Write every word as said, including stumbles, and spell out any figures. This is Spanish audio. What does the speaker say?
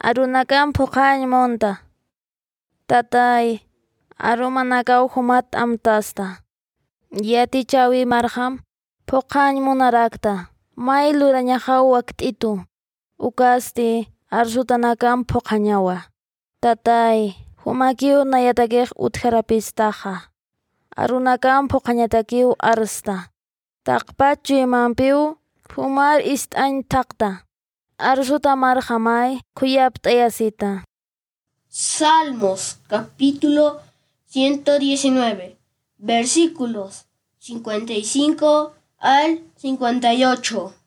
Arunakan puqañmonta. Tatay, arumanakaw humat amtasta. Yatichawi marham, puqañmunarakta. May lurañajaw wakt'itu. Ukasti, arsutanakan puqañawa. Tatay, humakiw nayatakej utjarapistaja. Arunakan puqañatakiw arsta. Taqpachu imanpiw, humar ist'añ taqta. Arsuta marhamay, kuyapt'ayasita. Salmos, capítulo ciento diecinueve, versículos cincuenta y cinco al cincuenta y ocho.